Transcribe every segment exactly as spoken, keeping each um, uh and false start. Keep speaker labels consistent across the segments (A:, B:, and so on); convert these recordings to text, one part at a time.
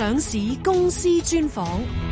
A: 上市公司專訪。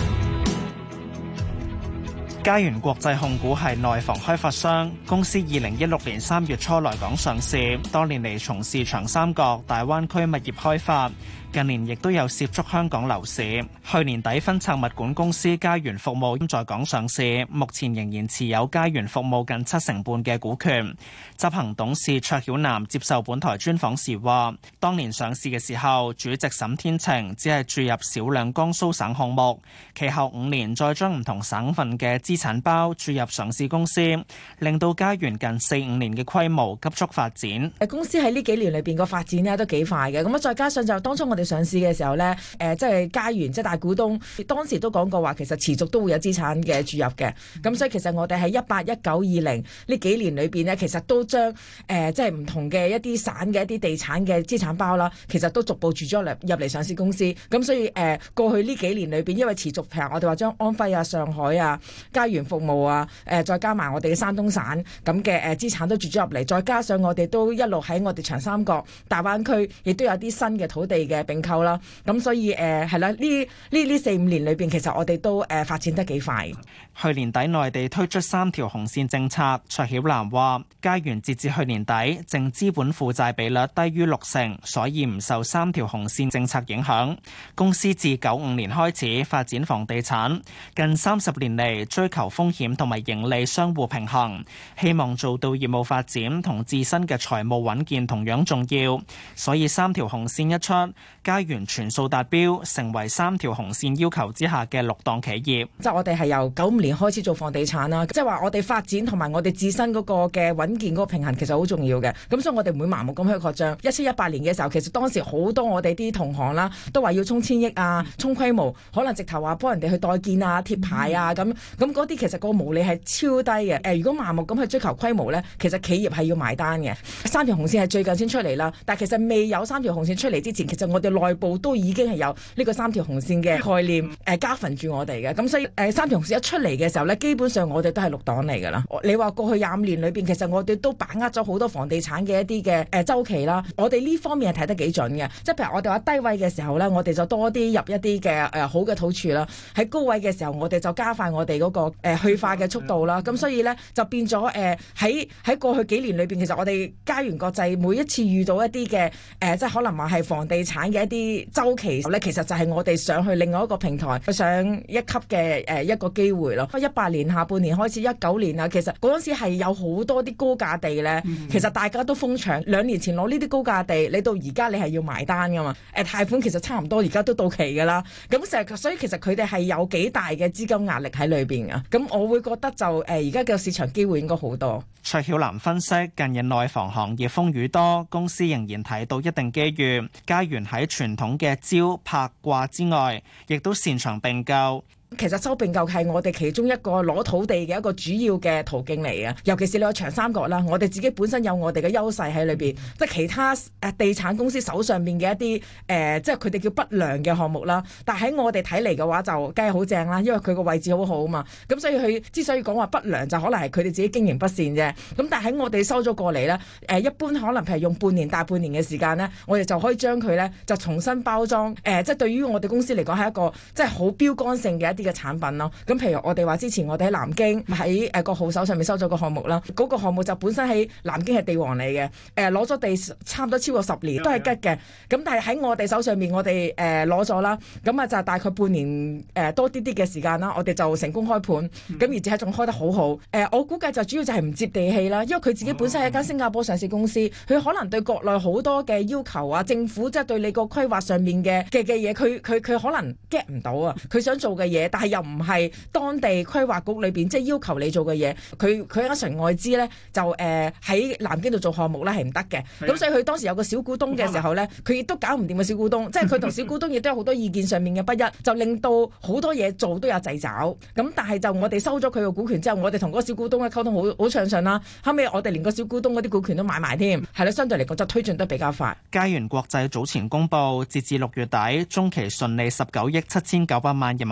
B: 嘉源國際控股係內房開發商，公司二零一六年三月初來港上市，多年嚟從事長三角、大灣區物業開發，近年亦都有涉足香港樓市。去年底分拆物管公司嘉源服務在港上市，目前仍然持有嘉源服務近七成半嘅股權。執行董事卓曉南接受本台專訪時話，當年上市嘅時候，主席沈天晴只係注入少量江蘇省項目，其後五年再將唔同省份嘅資產包注入上市公司，令到嘉源近四五年嘅規模急速發展。
C: 誒，公司喺呢幾年裏邊個發展咧都幾快嘅，咁啊再加上就當初我哋上市嘅時候咧，誒即係嘉源即係大股東，當時都講過話，其實持續都會有資產嘅注入嘅。咁所以其實我哋喺一八、一九、二零呢幾年裏邊咧，其實都將誒即係唔同嘅一啲省嘅一啲地產嘅資產包啦，其實都逐步注咗入入嚟上市公司。咁所以誒過去呢幾年裏邊，因為持續譬如我哋話將安徽啊、上海啊、嘉源服務啊，誒再加埋我哋嘅山東省咁嘅誒資產都注咗入嚟，再加上我哋都一路喺我哋長三角、大灣區，亦都有啲新嘅土地嘅併購啦。咁所以誒係啦，呢呢呢四五年裏邊，其實我哋都誒發展得幾快。
B: 去年底內地推出三條紅線政策，卓曉南話：嘉源截至去年底淨資本負債比率低於六成，所以唔受三條紅線政策影響。公司自九五年開始發展房地產，近三十年嚟追求風險同埋盈利相互平衡，希望做到業務發展同自身嘅財務穩健同樣重要。所以三條紅線一出，嘉源全數達標，成為三條紅線要求之下嘅綠檔企業。
C: 即係我哋係由九五年開始做房地產啦，即係話我哋發展同埋我哋自身嗰個嘅穩健嗰個平衡其實好重要嘅。咁所以我哋唔會盲目咁去擴張。一七一八年嘅時候，其實當時好多我哋啲同行啦，都話要衝千億啊，衝規模，可能直頭話幫人哋去代建啊、貼牌啊咁。咁嗰啲其實個毛利係超低嘅。誒，如果盲目咁去追求規模咧，其實企業係要埋單嘅。三條紅線係最近先出嚟啦，但係其實未有三條紅線出嚟之前，其實我哋內部都已經係有呢個三條紅線嘅概念誒，加分住我哋嘅。咁所以誒，三條紅線一出嚟嘅時候咧，基本上我哋都係綠檔嚟㗎啦。你話過去廿五年裏邊，其實我哋都把握咗好多房地產嘅一啲嘅誒週期啦。我哋呢方面係睇得幾準嘅，即係譬如我哋話低位嘅時候咧，我哋就多啲入一啲嘅誒好嘅土儲啦。喺高位嘅時候，我哋就加快我哋嗰個誒去化嘅速度啦。咁所以咧就變咗誒喺喺過去幾年裏邊，其實我哋嘉源國際每一次遇到一啲嘅誒，即係可能話係房地產嘅一啲週期咧，其實就係我哋上去另外一個平台上一級嘅誒一個機會咯。一八年下半年開始，一九年啊，其實嗰陣時係有好多啲高價地咧，其實大家都瘋搶。兩年前攞呢啲高價地，你到而家你係要埋單噶嘛？誒貸款其實差唔多，而家都到期噶啦。咁成日所以其實佢哋係有幾大嘅資金壓力喺裏邊啊。咁我會覺得就誒而家嘅市場機會應該好多。
B: 卓曉南分析，近日內房行業風雨多，公司仍然睇到一定機遇。嘉源喺傳統嘅招拍掛之外，亦都擅長併購。
C: 其實收併購係我哋其中一個攞土地嘅一個主要嘅途徑嚟嘅，尤其是你話長三角啦，我哋自己本身有我哋嘅優勢喺裏邊，即係其他誒地產公司手上邊嘅一啲誒、呃，即係佢哋叫不良嘅項目啦。但係喺我哋睇嚟嘅話，就梗係好正啦，因為佢個位置好好啊嘛。咁所以佢之所以講話不良，就可能係佢哋自己經營不善啫。咁但係喺我哋收咗過嚟咧，誒、呃、一般可能譬如用半年大半年嘅時間咧，我哋就可以將佢咧就重新包裝。誒、呃，即係對於我哋公司嚟講係一個即係好標杆性嘅一啲嘅產品咯，咁譬如我哋話之前我哋喺南京喺誒個號手上面收咗個項目啦，嗰、那個項目就本身喺南京係地王嚟嘅，誒攞咗地差唔多超過十年都係吉嘅，咁但係喺我哋手上面我哋誒攞咗啦，咁啊就大概半年誒、呃、多啲啲嘅時間啦，我哋就成功開盤，咁、嗯、而且仲開得好好，誒、呃、我估計就主要就係唔接地氣啦，因為佢自己本身係一間新加坡上市公司，佢可能對國內好多嘅要求啊，政府即係對你個規劃上面嘅嘅嘅嘢，佢佢佢可能 get 唔到啊，佢想做嘅嘢，但係又唔係當地規劃局裏邊即係要求你做嘅嘢，佢佢一純外資咧就誒喺、呃、南京度做項目咧係唔得嘅，咁所以佢當時有個小股東嘅時候咧，佢亦都搞唔掂個小股東，即係佢同小股東亦都有好多意見上面嘅不一，就令到好多嘢做都有掣肘。咁但係就我哋收咗佢個股權之後，我哋同嗰個小股東嘅溝通好好暢順啦。後尾我哋連個小股東嗰啲股權都買埋添，係啦，相對嚟講就推進得比較快。
B: 嘉源國際早前公布，截至六月底中期純利十九億七千九百萬人民幣。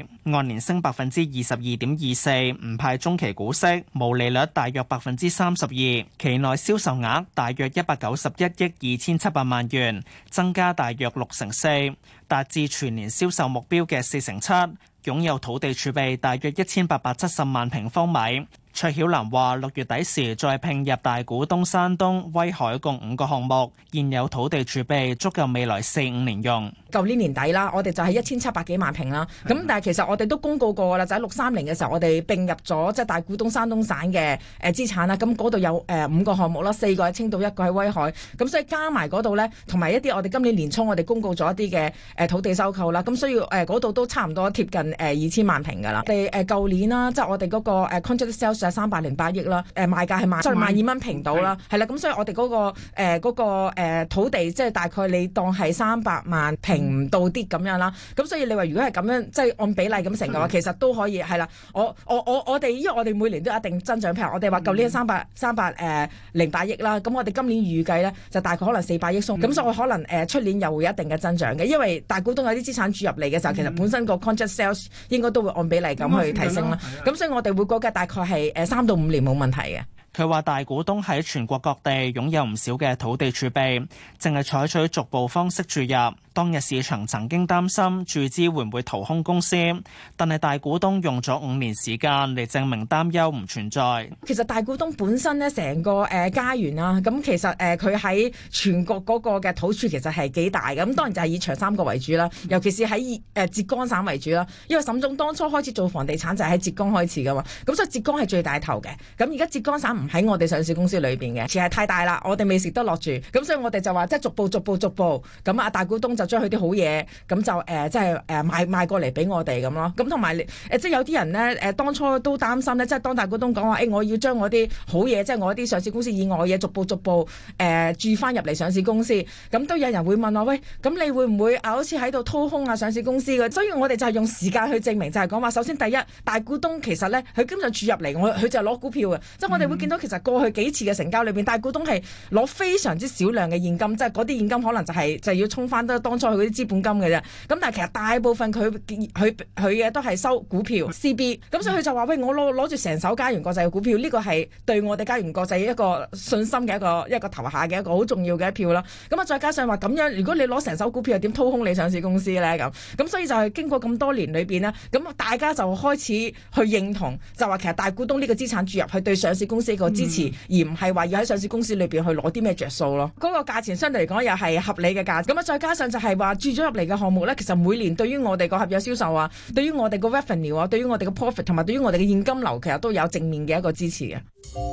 B: 按年升百分之二十二點二四，唔派中期股息，毛利率大約百分之三十二。期內銷售額大約一百九十一億二千七百萬元，增加大約六成四，達至全年銷售目標嘅四成七。擁有土地儲備大約一千八百七十萬平方米。卓曉蘭話：六月底時再併入大股東山東、威海共五個項目，現有土地儲備足夠未來四五年用。
C: 舊年年底啦，我哋就係一千七百幾萬平啦。咁但係其實我哋都公告過啦，就喺六三年嘅時候，我哋併入咗即係大股東山東省嘅誒資產啦。咁嗰度有誒五個項目啦，四個喺青島，一個喺威海。咁所以加埋嗰度咧，同埋一啲我哋今年年初我哋公告咗一啲嘅誒土地收購啦。咁所以誒嗰度都差唔多貼近誒二千萬平㗎啦。我哋誒舊年啦，即係我哋嗰個誒 contract sales 係三百零八億啦。誒賣價係萬，即係萬二蚊平到啦。係啦，咁所以我哋嗰個誒嗰個誒土地即係大概你當係三百萬平唔到啲咁樣啦，咁所以你話如果係咁樣，即係按比例咁成嘅話，其實都可以係啦。我我我我哋因為我哋每年都有一定增長，譬如我哋話舊年三百三百誒零八億啦，咁我哋今年預計咧就大概可能四百億鬆，咁、嗯、所以可能誒出年又會有一定嘅增長嘅，因為大股東有啲資產注入嚟嘅時候，嗯、其實本身個 contract sales 應該都會按比例咁去提升啦。咁、嗯、所以我哋會估計大概係誒三到五年冇問題嘅。
B: 佢話大股東喺全國各地擁有唔少嘅土地儲備，淨係採取逐步方式注入。當日市場曾經擔心注資會唔會掏空公司，但係大股東用咗五年時間嚟證明擔憂唔存在。
C: 其實大股東本身咧，成個誒家園啦，咁其實誒佢喺全國嗰個嘅土儲其實係幾大嘅。咁當然就係以長三角為主啦，尤其是喺誒浙江省為主啦。因為沈總當初開始做房地產就係喺浙江開始噶嘛，咁所以浙江係最大頭嘅。咁而家浙江省唔喺我哋上市公司裏邊嘅，其實太大啦，我哋未食得落住。咁所以我哋就話即係逐步逐步逐步咁啊，大股東就將佢啲好嘢咁就誒即係誒賣賣過嚟俾我哋咁咯。咁同埋誒即係有啲人咧誒當初都擔心咧，即係當大股東講話誒我要將我啲好嘢，即係我啲上市公司以外嘅嘢逐步逐步誒注翻入嚟上市公司。咁都有人會問我喂，咁你會唔會啊好似喺度掏空啊上市公司嘅？所以我哋就係用時間去證明，就係講話首先第一，大股東其實咧佢根本上注入嚟，我佢就係攞股票嘅。即係我哋會見到其實過去幾次嘅成交裏邊，大股東係攞非常之少量嘅現金，即係嗰啲現金可能就係、是、就係、是、要沖翻得當初佢嗰啲資本金嘅啫。咁但係其實大部分佢佢佢嘅都係收股票 C B。咁所以佢就話喂，我攞攞住成手嘉源國際嘅股票，呢、這個係對我哋嘉源國際一個信心嘅一個一個投下嘅一個好重要嘅一票啦。咁啊再加上話咁樣，如果你攞成手股票，又點掏空你上市公司咧？咁咁所以就係經過咁多年裏邊呢，咁大家就開始去認同，就話其實大股東呢個資產注入去對上市公司一個支持，嗯、而唔係話要喺上市公司裏邊去攞啲咩着數咯。嗰、那個價錢相對嚟講又係合理嘅價。咁啊再加上就係話注咗入嚟嘅項目咧，其實每年對於我哋個合約銷售啊，對於我哋個 revenue 啊，對於我哋嘅 profit 同埋對於我哋嘅現金流，其實都有正面嘅一個支持嘅。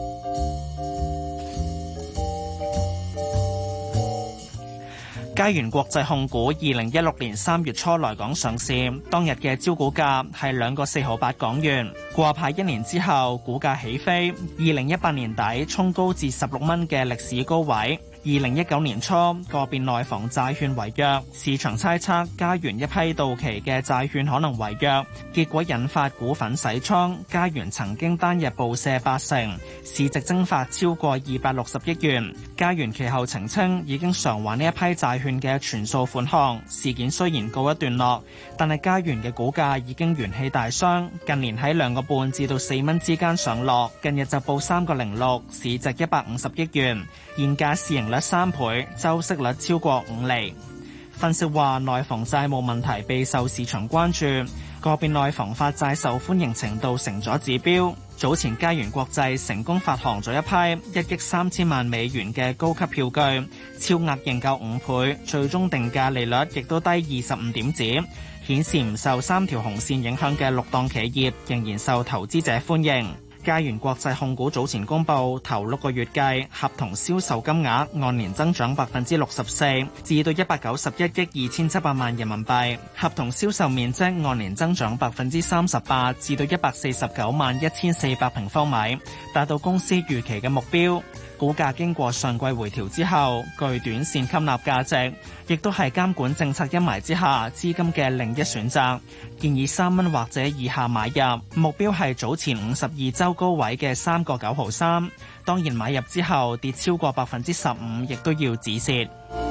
B: 嘉源國際控股二零一六年三月初來港上市，當日嘅招股價係兩個四毫八港元。掛牌一年之後，股價起飛，二零一八年底衝高至十六蚊嘅歷史高位。二零一九年初，個別內房債券違約，市場猜測嘉源一批到期嘅債券可能違約，結果引發股份洗倉。嘉源曾經單日暴瀉八成，市值蒸發超過二百六十億元。嘉源其後澄清已經償還呢一批債券嘅全數款項。事件雖然告一段落，但係嘉源嘅股價已經元氣大傷，近年喺兩個半至到四蚊之間上落，近日就報三個零六，市值一百五十億元，現價市盈率三倍，周息率超過五厘。分析話，內房債務問題備受市場關注，個別內房發債受歡迎程度成咗指標。早前嘉源國際成功發行咗一批一億三千萬美元嘅高級票據，超額認購五倍，最終定價利率亦都低二十五點子，顯示唔受三條紅線影響嘅綠檔企業仍然受投資者歡迎。嘉源國際控股早前公布，頭六個月計合同銷售金額按年增長百分之六十四，至到一百九十一億二千七百萬人民幣；合同銷售面積按年增長百分之三十八，至到一百四十九萬一千四百平方米，達到公司預期嘅目標。股價經過上季回調之後，具短線吸納價值，亦都係監管政策陰霾之下資金嘅另一選擇。建議三蚊或者以下買入，目標係早前五十二周高位嘅三個九毫三。當然買入之後跌超過百分之十五，亦都要止蝕。